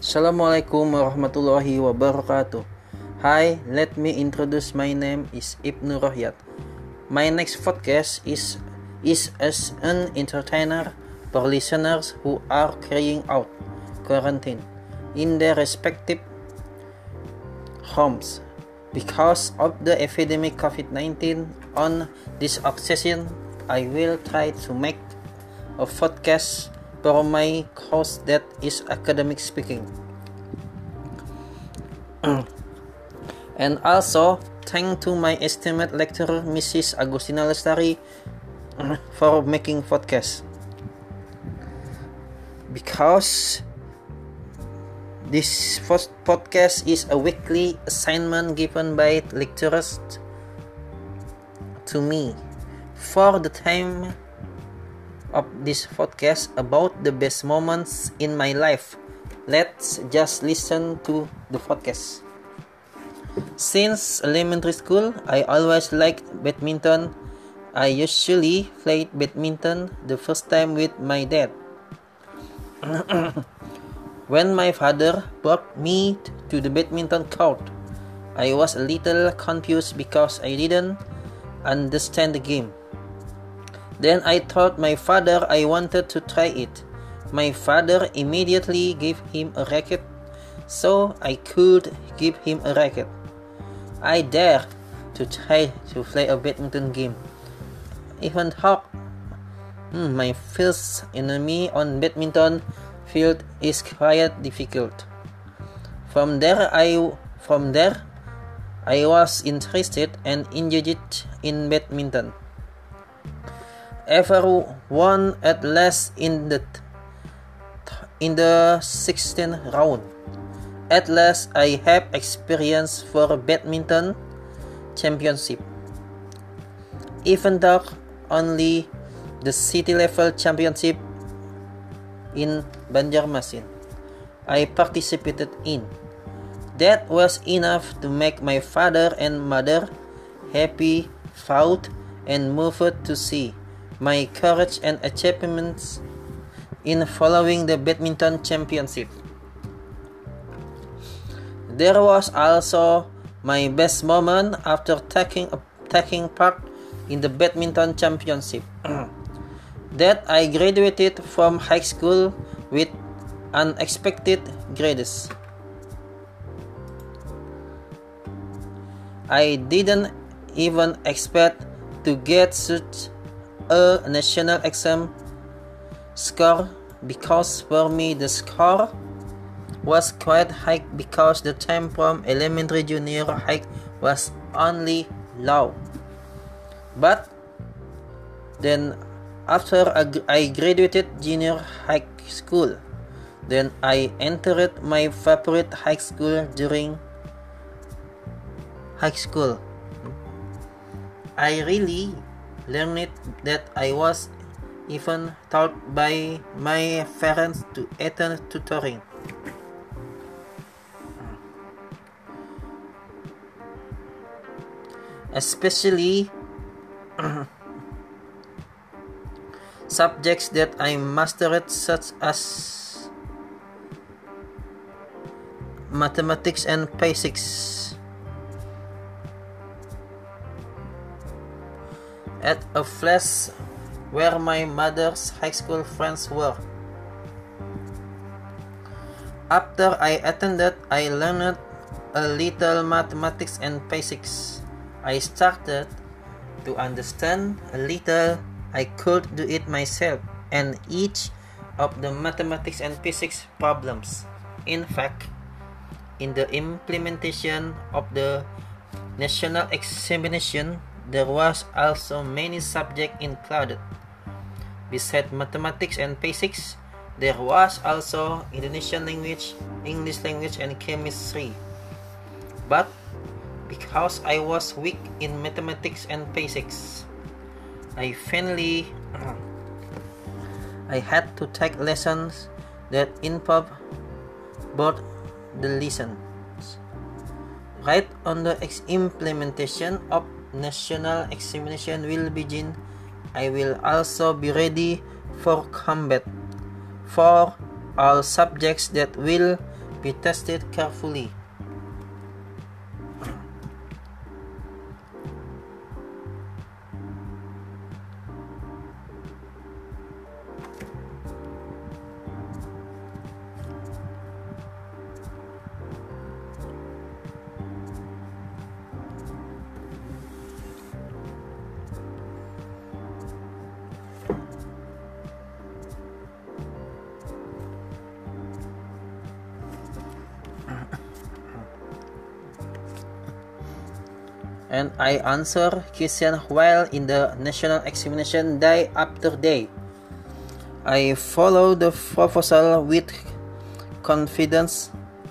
Assalamualaikum warahmatullahi wabarakatuh. Hi, let me introduce my name is Ibnu Rohyat. My next podcast is as an entertainer for listeners who are carrying out quarantine in their respective homes because of the epidemic COVID-19. On this occasion, I will try to make a podcast for my course that is academic speaking. And also thank to my esteemed lecturer Mrs. Agustina Lestari for making podcast, because this first podcast is a weekly assignment given by lecturers to me for the time of this podcast about the best moments in my life. Let's just listen to the podcast. Since elementary school, I always liked badminton. I usually played badminton the first time with my dad. When my father brought me to the badminton court, I was a little confused because I didn't understand the game. Then I told my father I wanted to try it. My father immediately gave him a racket so I could give him a racket. I dared to try to play a badminton game, even though my first enemy on badminton field is quite difficult. From there I was interested and enjoyed in badminton. Everyone at last in the 16th round. At last I have experience for badminton championship. Even though only the city level championship in Banjarmasin I participated in. That was enough to make my father and mother happy, proud, and moved to see my courage and achievements in following the badminton championship. There was also my best moment after taking part in the badminton championship. That I graduated from high school with unexpected grades. I didn't even expect to get such a national exam score, because for me the score was quite high because the time from elementary junior high was only low. But then after I graduated junior high school, then I entered my favorite high school during high school. I really learned that I was even taught by my parents to attend tutoring. Especially subjects that I mastered, such as mathematics and physics. At a place where my mother's high school friends were. After I attended, I learned a little mathematics and physics. I started to understand a little. I could do it myself, and each of the mathematics and physics problems. In fact, in the implementation of the national examination, there was also many subjects included. Besides mathematics and physics, there was also Indonesian language, English language, and chemistry. But because I was weak in mathematics and physics, I had to take lessons that involved both the lessons. Right on the implementation of national examination will begin, I will also be ready for combat for all subjects that will be tested carefully. And I answer question while in the national examination day after day. I follow the proposal with confidence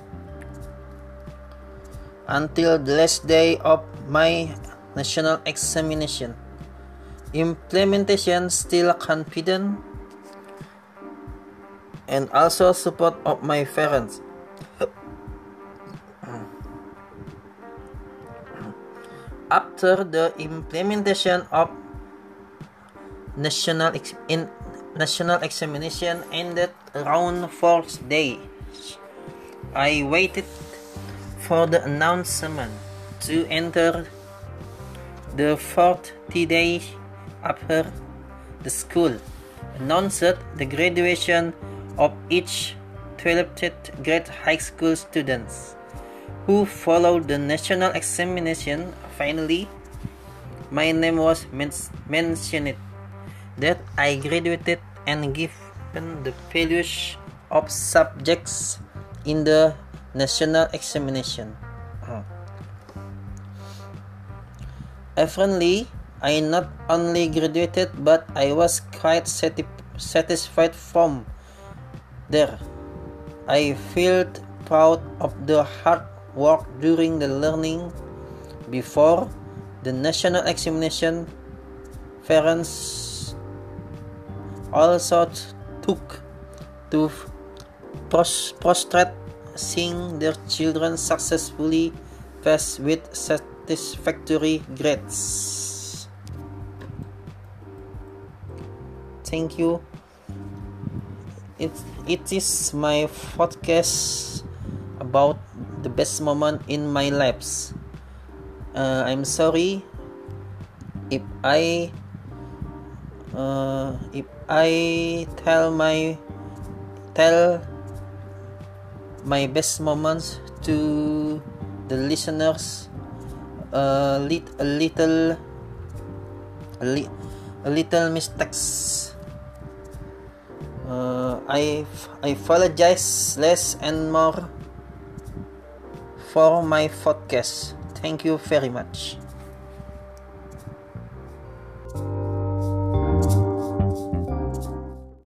until the last day of my national examination. Implementation still confident and also support of my parents. After the implementation of national examination ended around 4th day, I waited for the announcement to enter the 40 days after the school announced the graduation of each 12th grade high school students who followed the national examination. Finally, my name was mentioned that I graduated and given the values of subjects in the national examination. Apparently, I not only graduated but I was quite satisfied from there. I felt proud of the hard work during the learning before the national examination. Parents also took to prostrate seeing their children successfully pass with satisfactory grades. Thank you. It is my podcast about the best moment in my lives. I'm sorry if I tell my best moments to the listeners a little mistakes. I apologize less and more for my podcast. Thank you very much.